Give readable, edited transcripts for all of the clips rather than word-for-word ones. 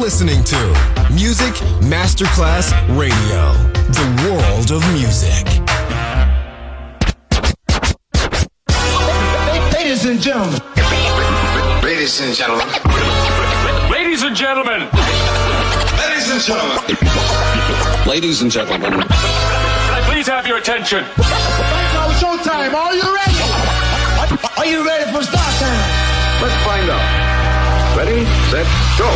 listening to Music Masterclass Radio, the world of music. Ladies and gentlemen. Ladies and gentlemen. Ladies and gentlemen. Ladies and gentlemen. Ladies and gentlemen. Can I please have your attention? Now showtime. Are you ready? Are you ready for start time? Let's find out. Ready, set, go.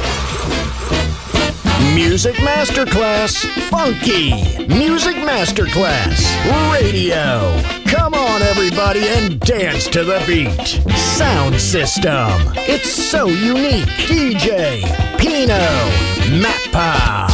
Music Masterclass Funky. Music Masterclass Radio. Come on, everybody, and dance to the beat. Sound system. It's so unique. DJ Pino Mappa.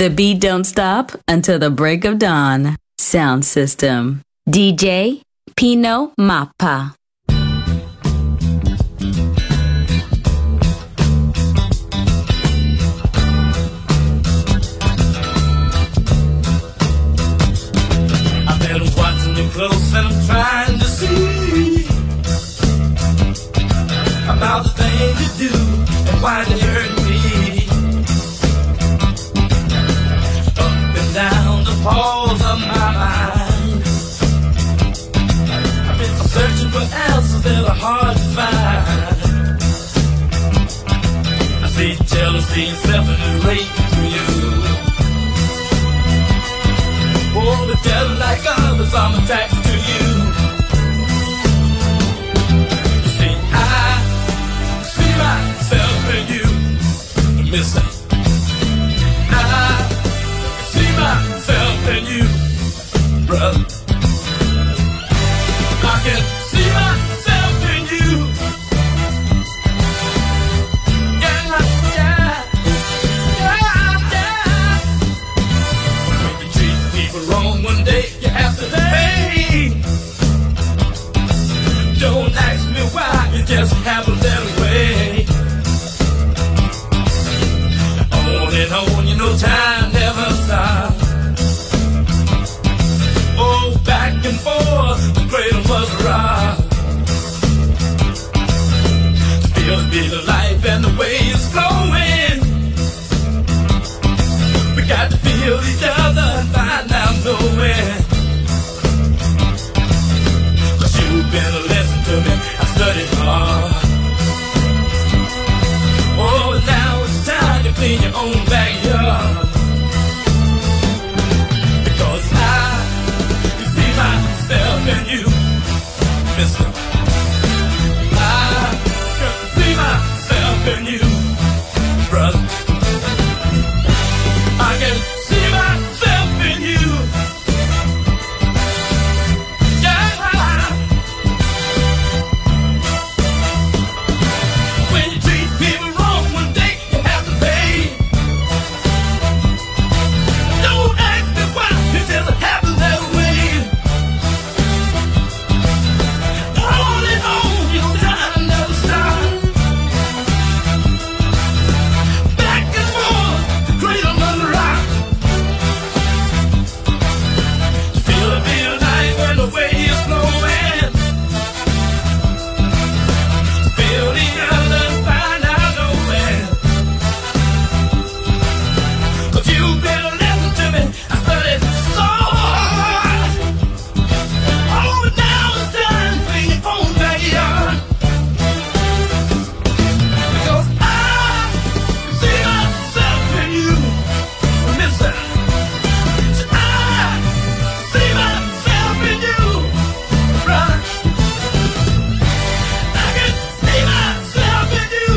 The beat don't stop until the break of dawn. Sound system. DJ Pino Mappa. I've been watching you close and I'm trying to see about the things you do and why they hurt me. Up and down the halls of my mind, I've been searching for answers that are hard to find. I see jealousy and self-hate through you. Oh, but just like others, I'm attracted to you. You see, I see myself in you, mister. I see myself in you, brother. I can see myself in you. Yeah, yeah, yeah, yeah. When you treat people wrong one day, you have to pay. Don't ask me why, it just happens that way. On and on, you know time never stops. Oh, back and forth, the cradle was rocked. To feel the beat of life and the way it's flowing, we got to feel each other and find out nowhere. 'Cause you've been a lesson to me, I studied hard. Oh, and now it's time to clean your own backyard. Because I see myself in you, mister. I see myself in you, brother. I can see myself in you. Yeah. When you treat people wrong one day, you have to pay. Don't ask me why, it just happens that way. On and on, your time never stops. Back and forth, the cradle of the rock. Feel the beat of life and the way it's flowing. Feel each other and find out nowhere. 'Cause you've been a lesson to me, I studied so hard. Oh, but now it's time for your own backyard. Because I see myself in you, mister. I see myself in you, brother. I can see myself in you.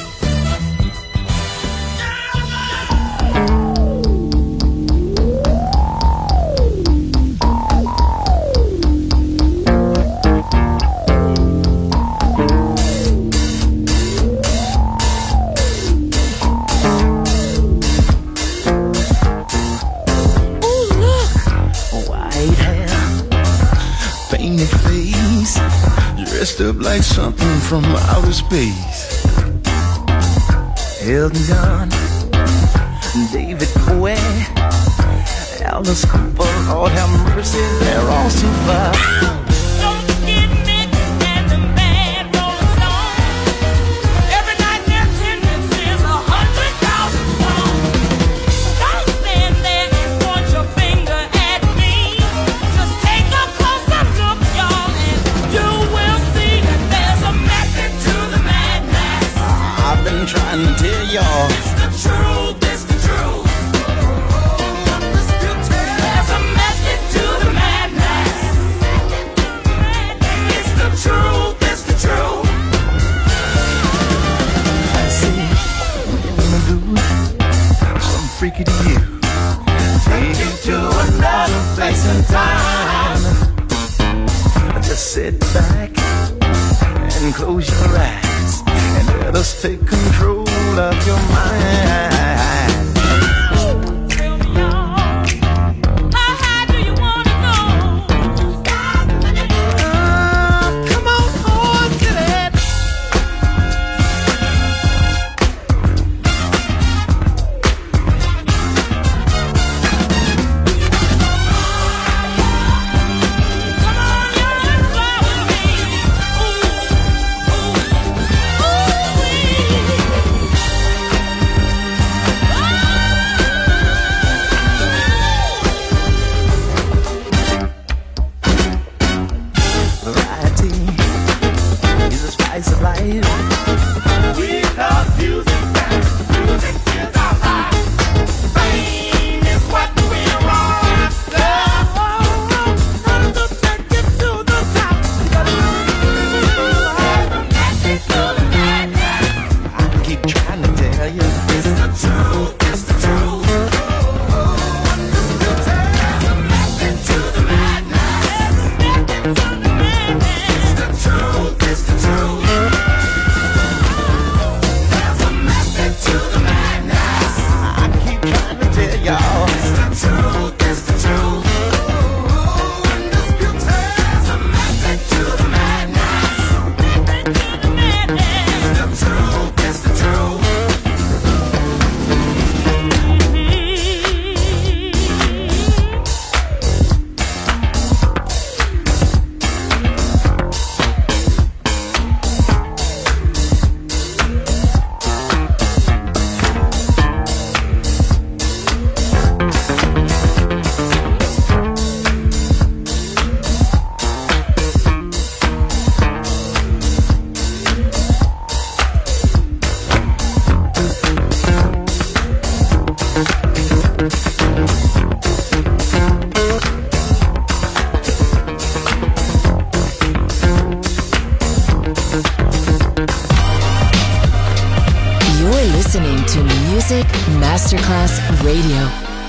White hair, painted face, dressed up like something from outer space. Elton John, David Bowie, Alice Cooper, Lord have mercy, they're all super. Don't forget Mick and the Bad Rolling Stones. Every night their attendance is 100,000 strong. Don't stand there and point your finger at me. Just take a closer look, y'all, and you will see that there's a method to the madness. I've been trying to tell y'all. It's the truth, it's the truth. There's a method to the madness. It's the truth, it's the truth. I see in the booth, some freaky to you. Take you to another place and time. Just sit back and close your eyes and let us take control of your mind. Music Masterclass Radio.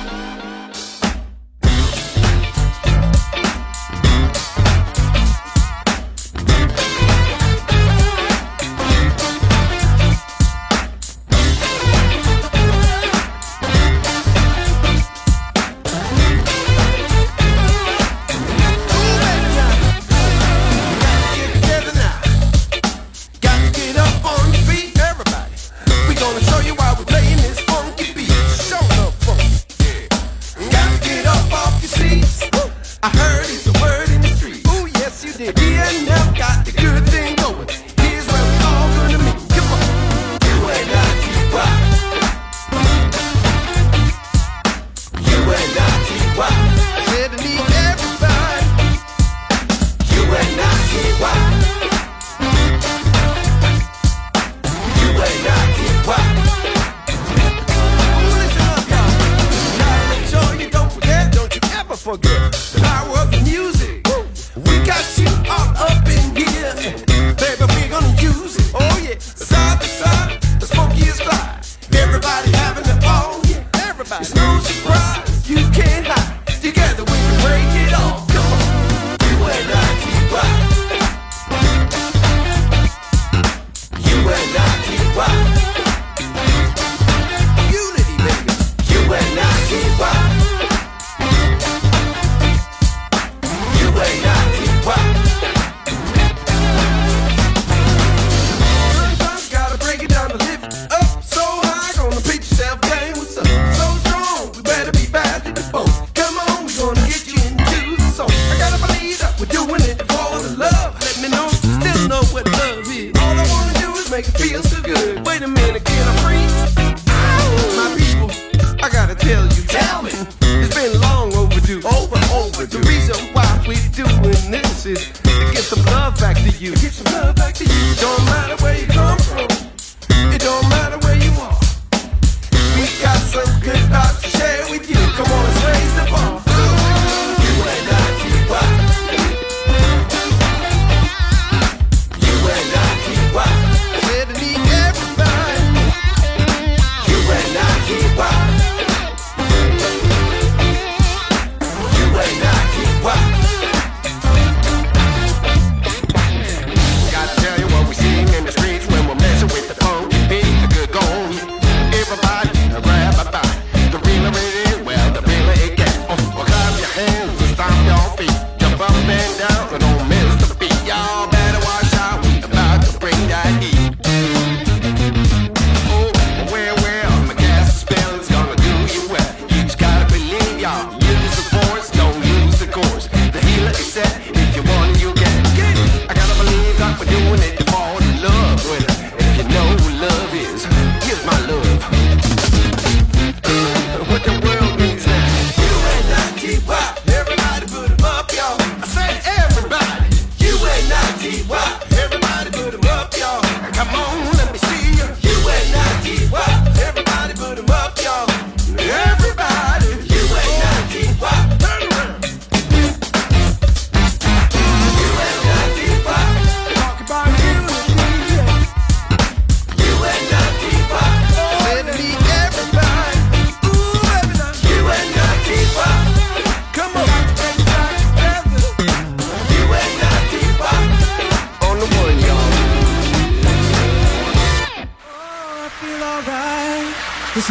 This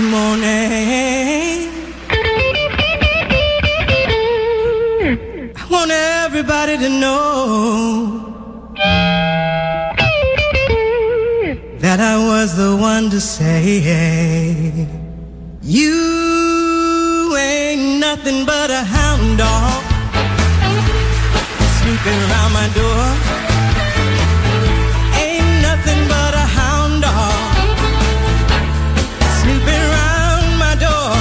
morning, I want everybody to know that I was the one to say you ain't nothing but a hound dog snooping around my door. Ain't nothing but a hound dog snooping around my door.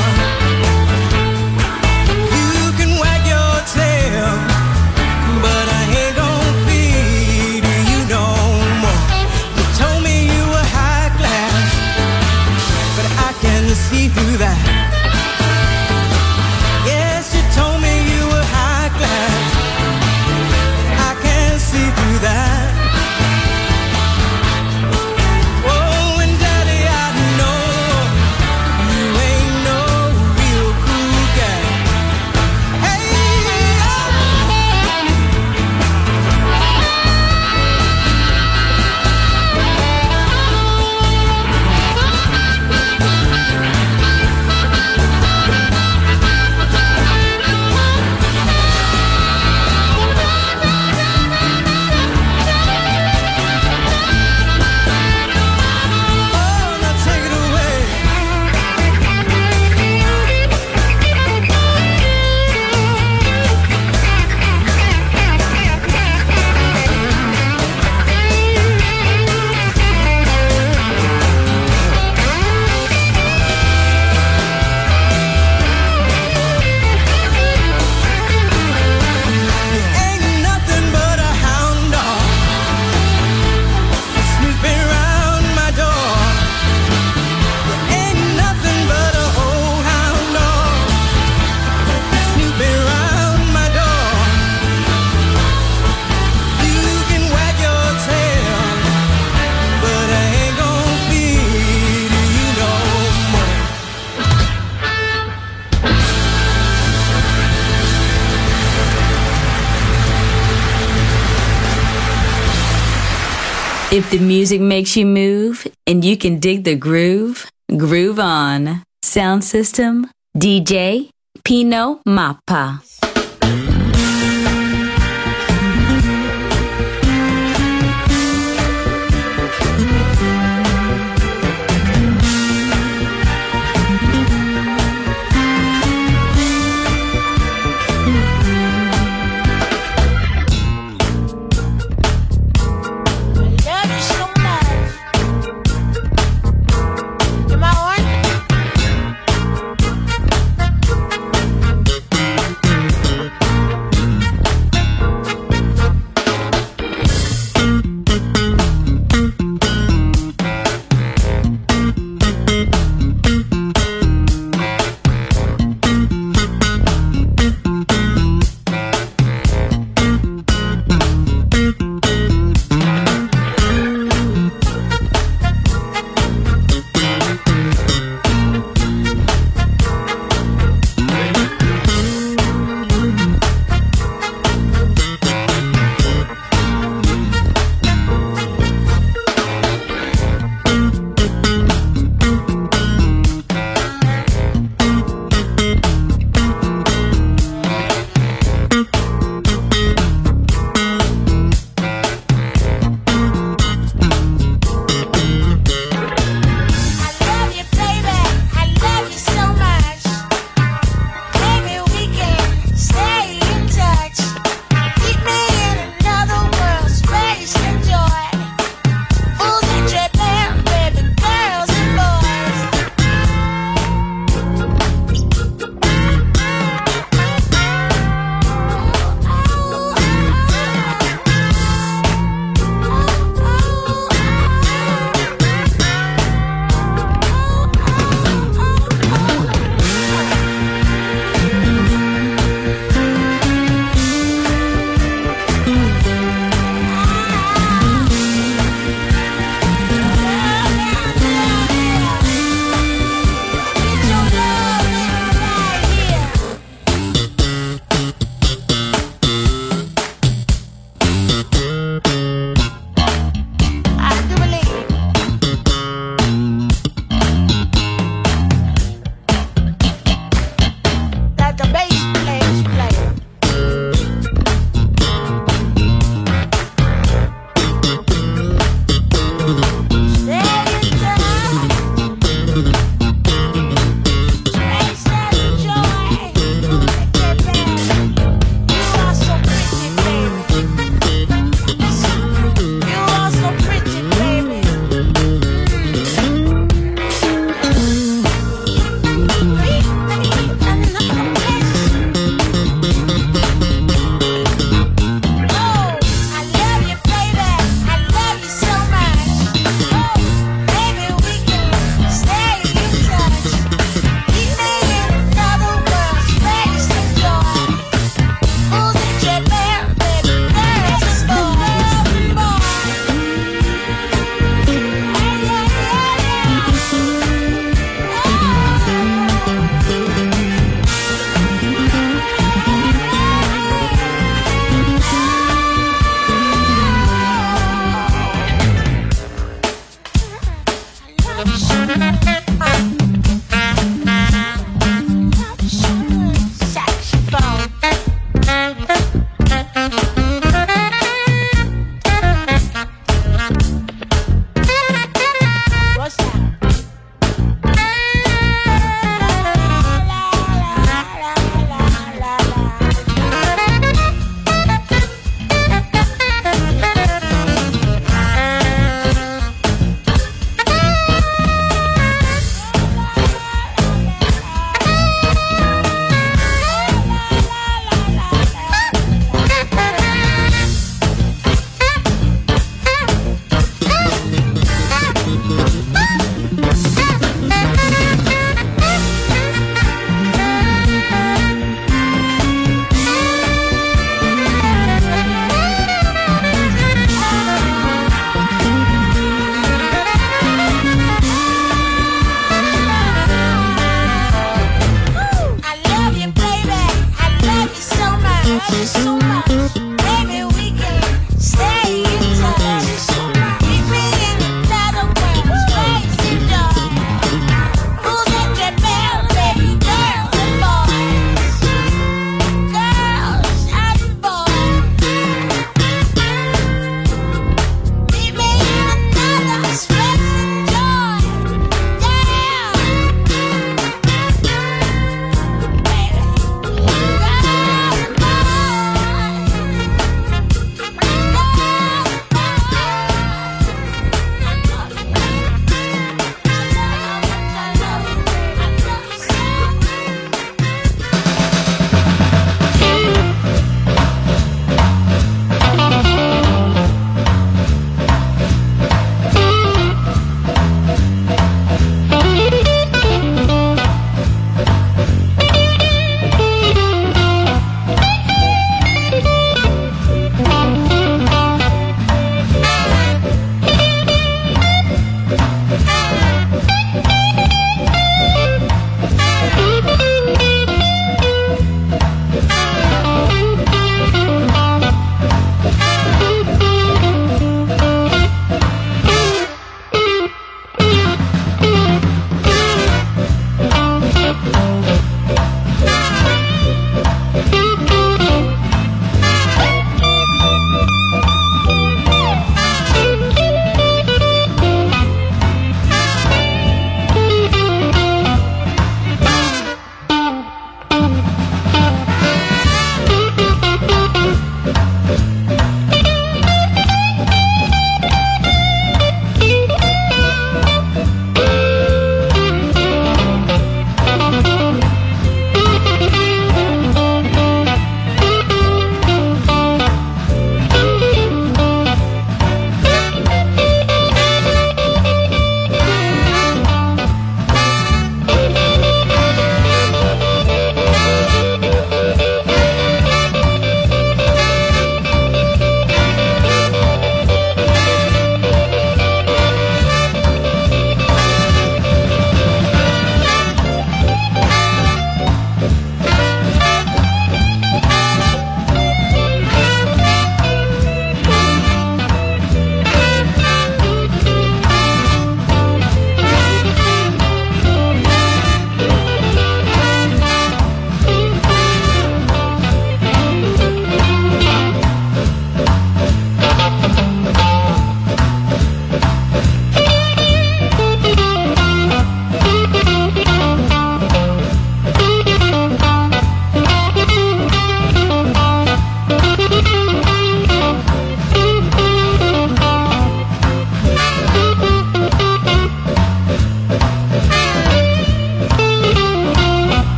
You can wag your tail, but I ain't gonna feed you no more. You told me you were high class, but I can see through that. Yes, you told me you were high class, I can see through that. If the music makes you move and you can dig the groove, groove on. Sound system, DJ Pino Mappa.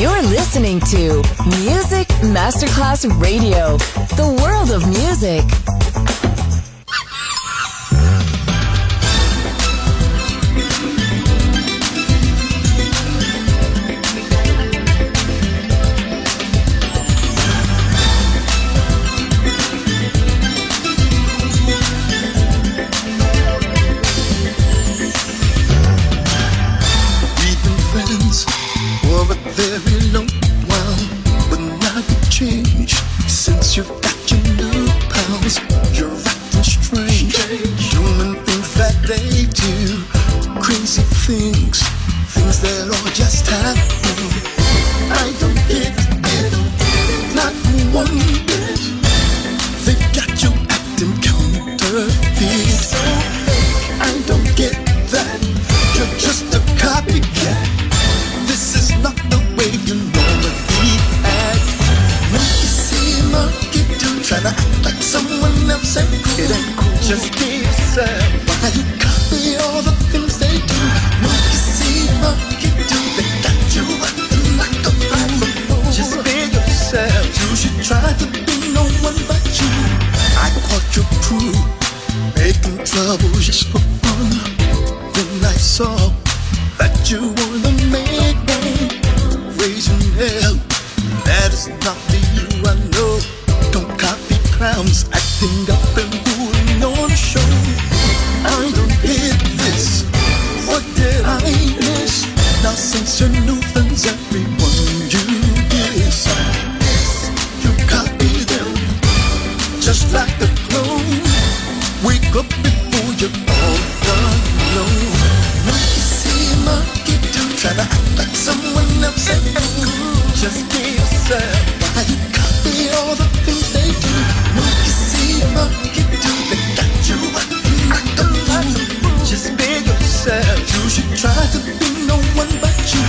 You're listening to Music Masterclass Radio, the world of music. You've got your new pals, you're acting strange, doing things that they do, crazy things that are just happening. I don't get it, not one bit. They've got you acting counterfeit. I don't get that, you're just a copycat. This is not the way you normally act. Monkey do trying to act like someone else ain't cool. It ain't cool. Just be yourself. Why you copy all the things they do? Monkey do, they got you acting like a fool. Just be yourself. You should try to be no one but you. I caught your crew making trouble just for fun. Then I saw that you were the main one, raising hell. That is not the you I know. Don't copy clowns acting up and fooling on the show. I don't hear this. What did I miss? Now since your new friends, everyone you kiss, you copy them just like a clone. Wake up before you're all done. No, monkey see, monkey do, try to act like someone else ain't cool. Just be yourself. Why you copy all the things they do? Monkey see, monkey do, they got you acting like a fool. Just be yourself. You should try to be no one but you.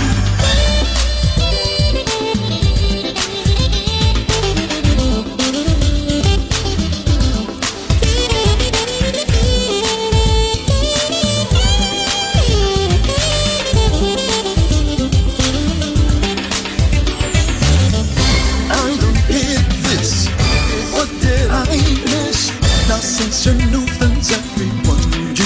Now since your new friends, everyone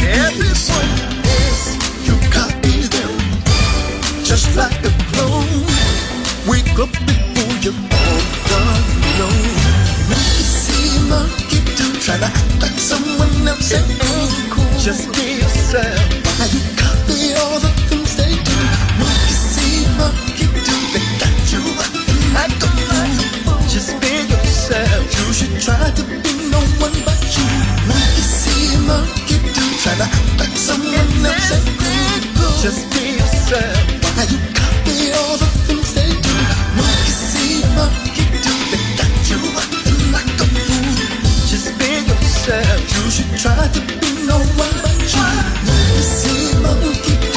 is, you copy them just like a clone. Wake up before you're all done. No, monkey see, monkey do, try to act like someone else ain't cool. Just be yourself. Why you copy all the things they do? Monkey see, monkey do, they got you acting like a fool. Just be yourself. You should try to be no one but you. Monkey see, monkey do, try to act like someone else ain't cool. Just be yourself. Why you copy all the things they do? Monkey see, monkey do, they got you acting like a fool. Just be yourself. You should try to be no one but you. Monkey see, monkey do.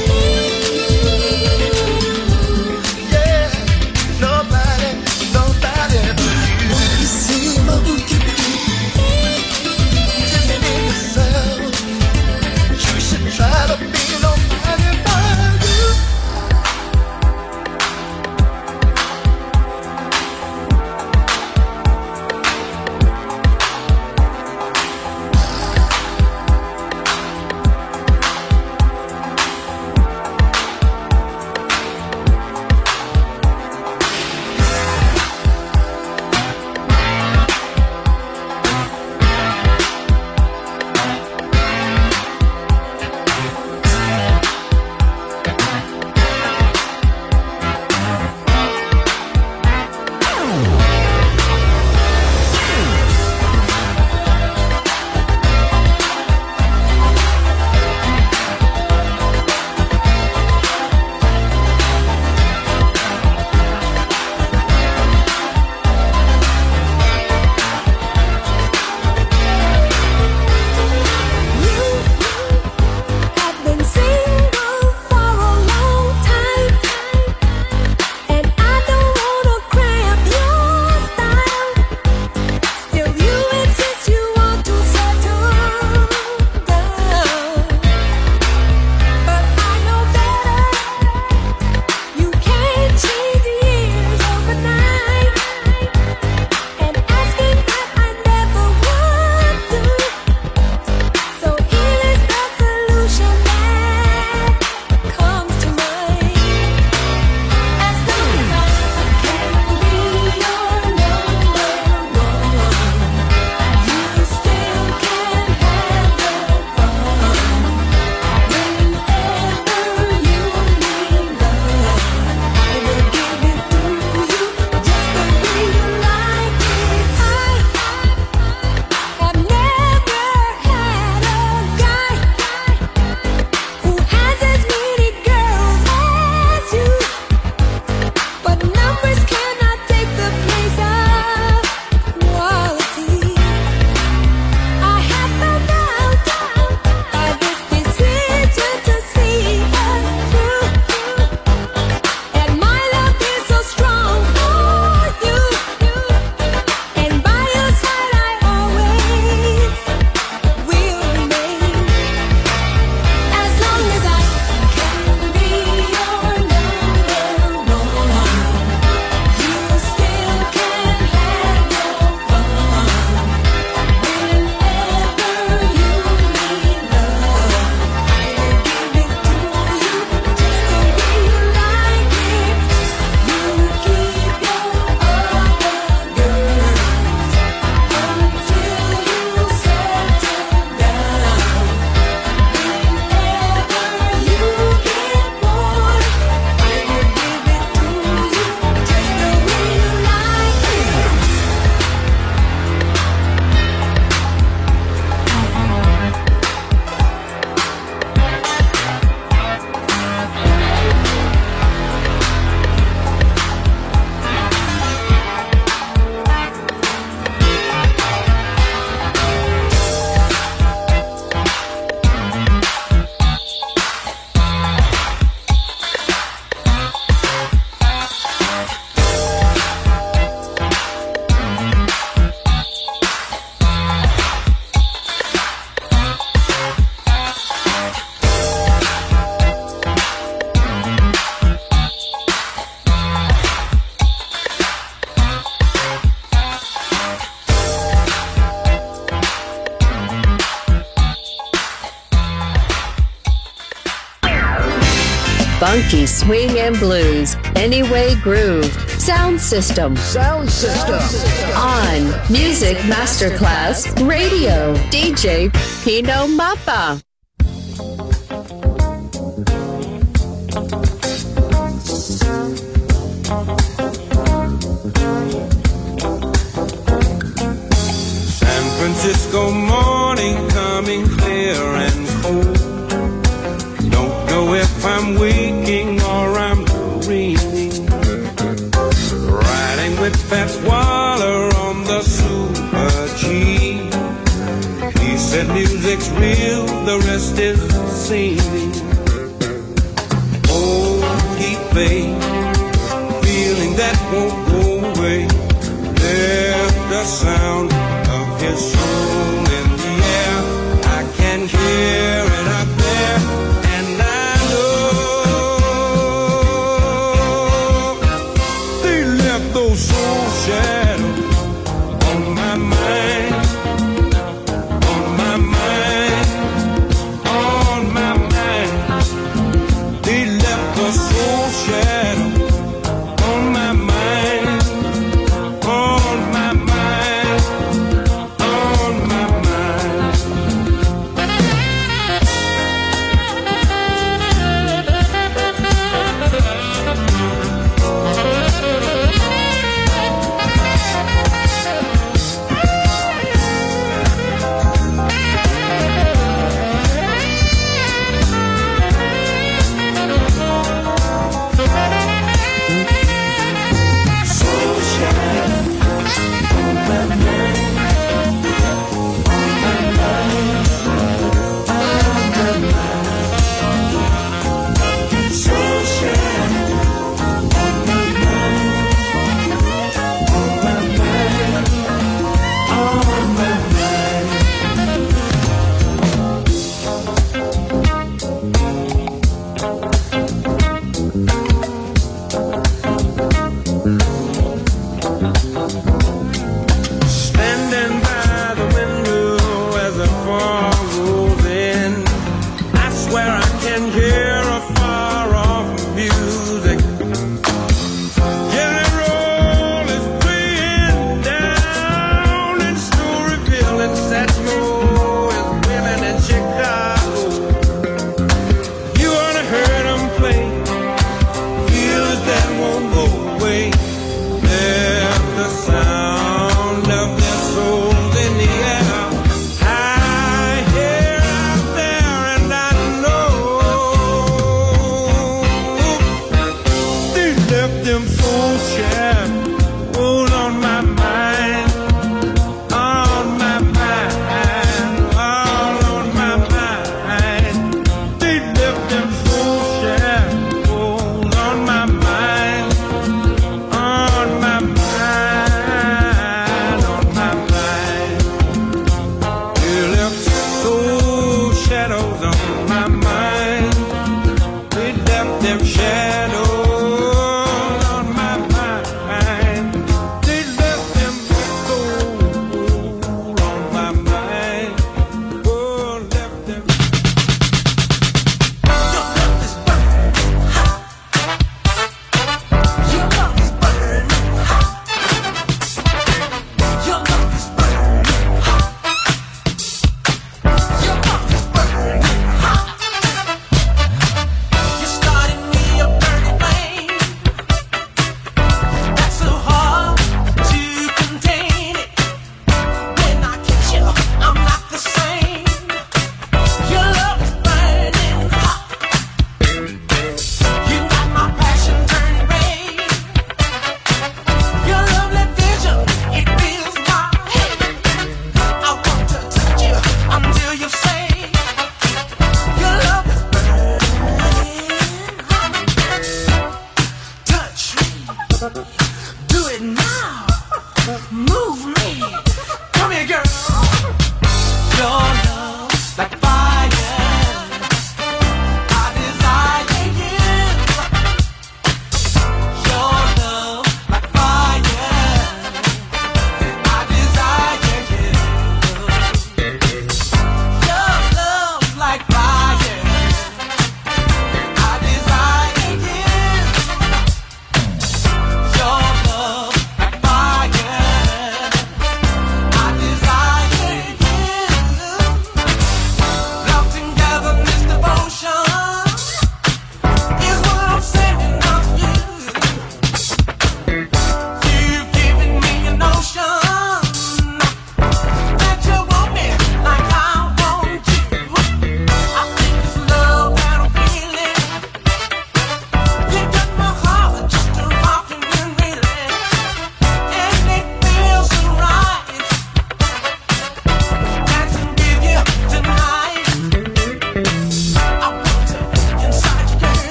Yeah, nobody but you. Monkey see, monkey do. Just be yourself. You should try to be nobody but you. funky swing and blues. Anyway Groove. Sound System. Sound System. On Music Masterclass Radio. DJ Pino Mappa. San Francisco morning coming clear and cold. Don't know if I'm waking or I'm dreaming. Riding with Fats Waller on the Super G. He said music's real, the rest is seeming. Oh, keep faith, feeling that won't go away. There's the sound of his soul in the air. I can hear it up there, and I know they left those soul shadows on my mind, on my mind, on my mind. They left the soul shadow on my mind.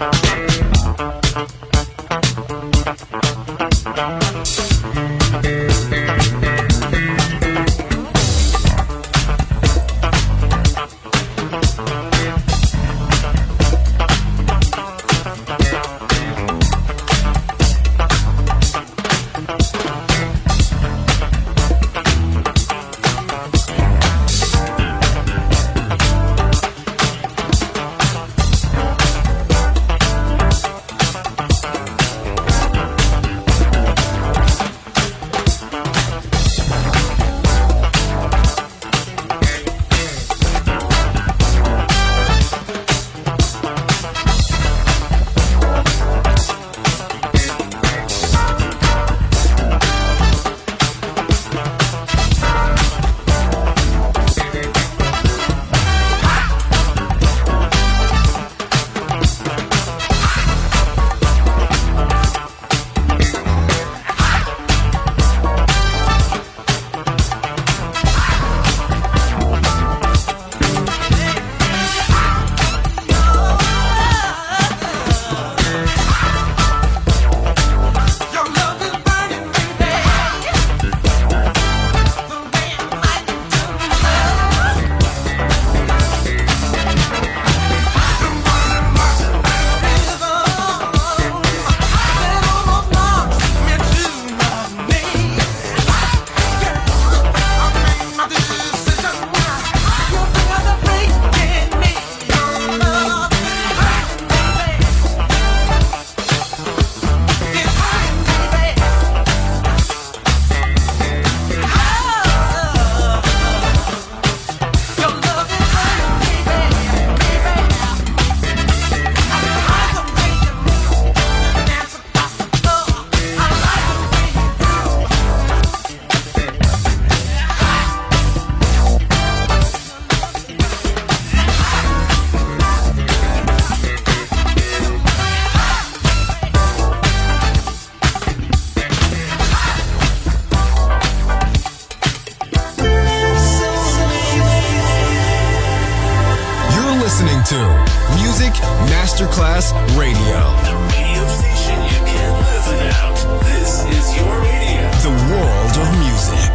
Masterclass Radio. The radio station you can't live without. This is your radio. The world of music.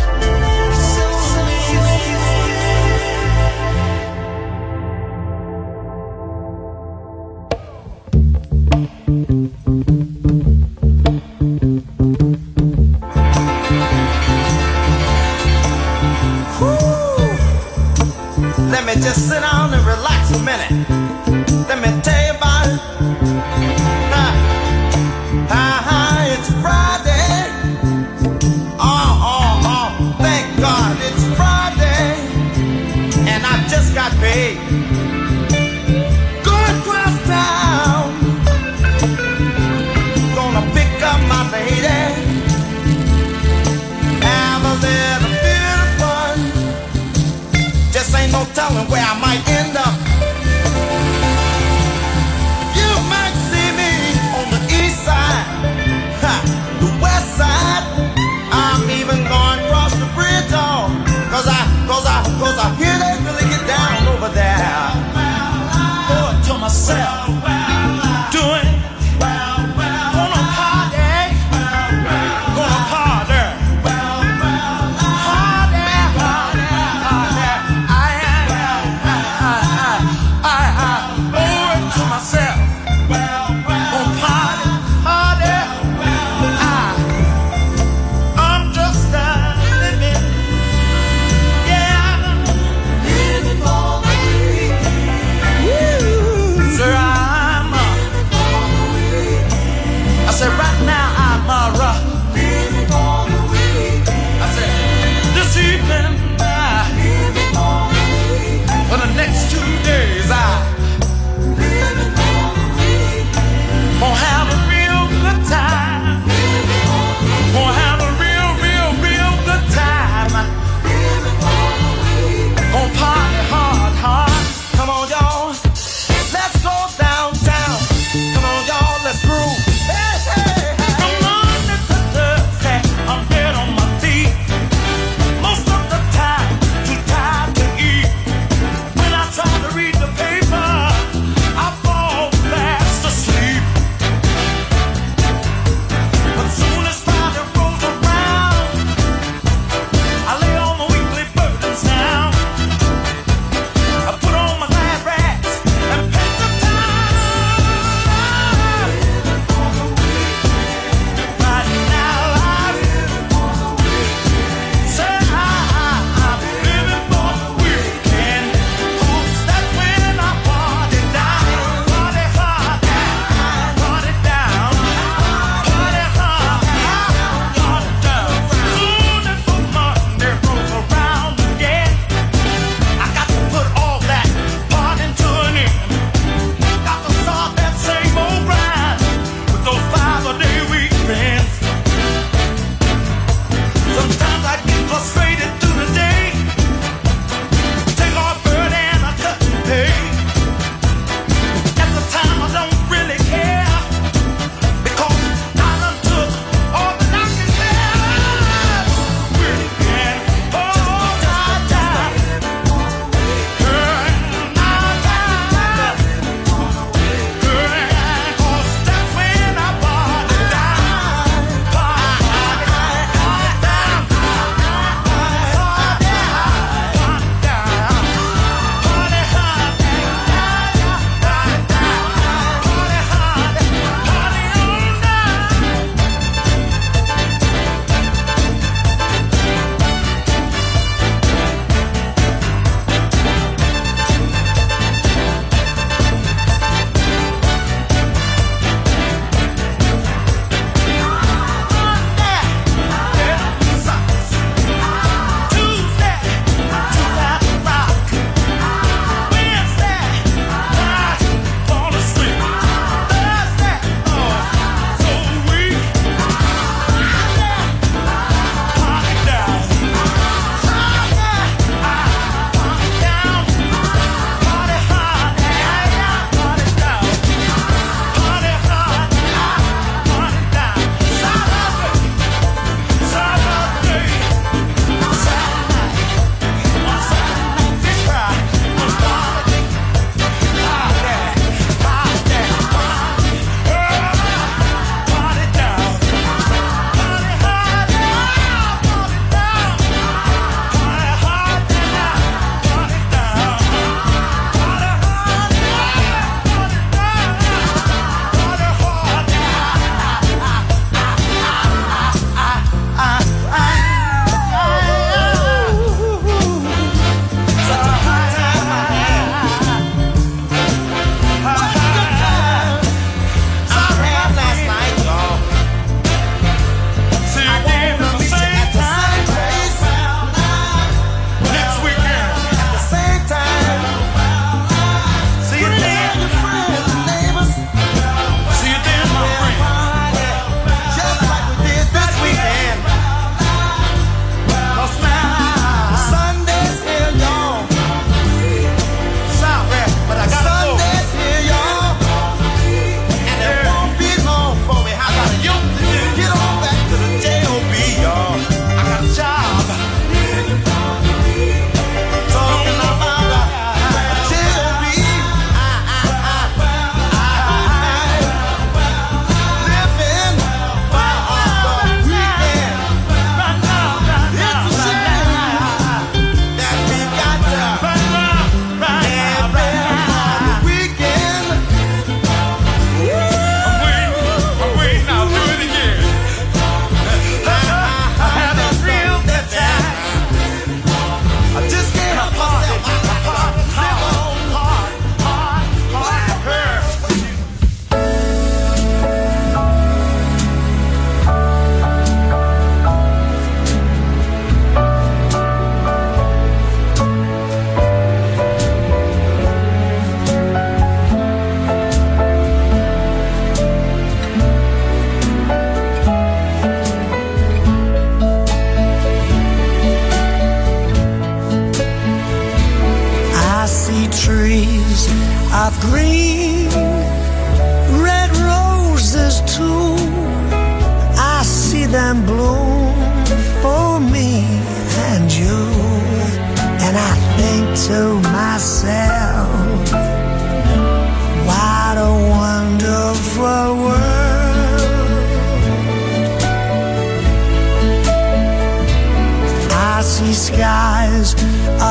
Let me just sit down and relax a minute. Let me tell you about it. It's Friday.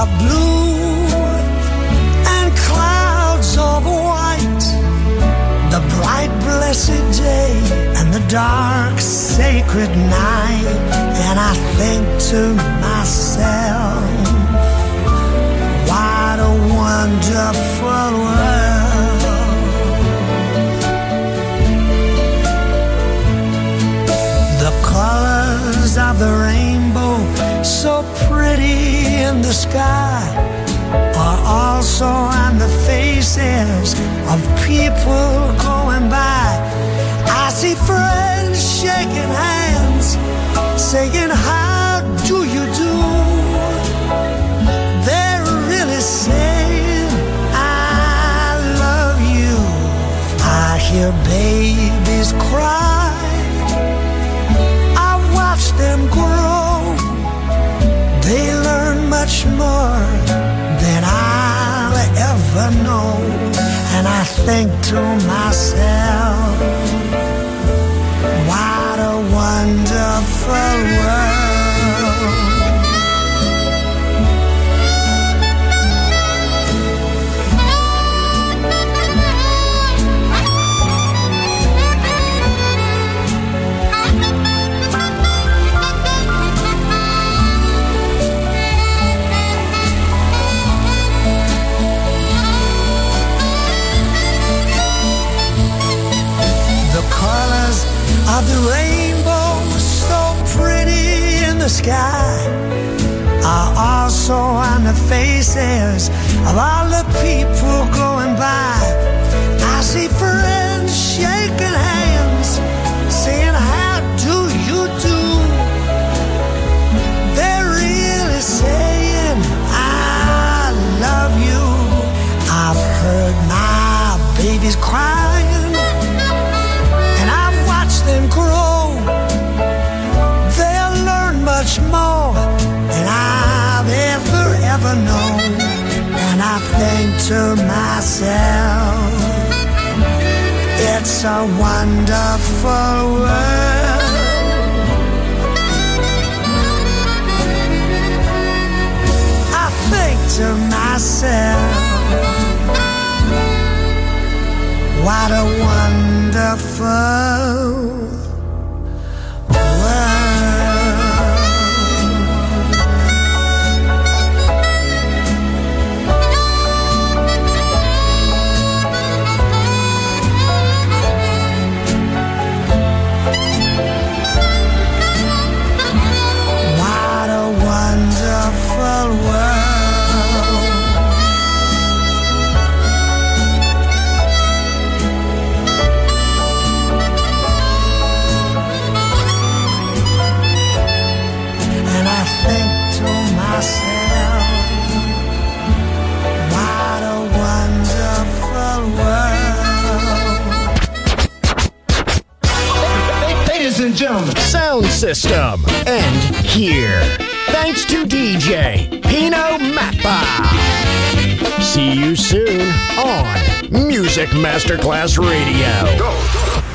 of blue and clouds of white, the bright blessed day and the dark sacred night. And I think to myself, what a wonderful world. The colors of the rainbow, so pretty in the sky, are also on the faces of people going by. I see friends shaking hands, saying, how do you do? They're really saying, I love you. I hear babies cry, I watch them grow. They learn much more than I'll ever know. And I think to myself, what a wonderful world. Of the rainbow, so pretty in the sky, are also on the faces of all the people going by. I see friends shaking hands, saying, how do you do? They're really saying, I love you. I've heard my babies crying, them grow. They'll learn much more than I've ever known. And I think to myself, it's a wonderful world. I think to myself, what a wonderful Sound system. And here, thanks to DJ Pino Mappa. See you soon on Music Masterclass Radio. Go.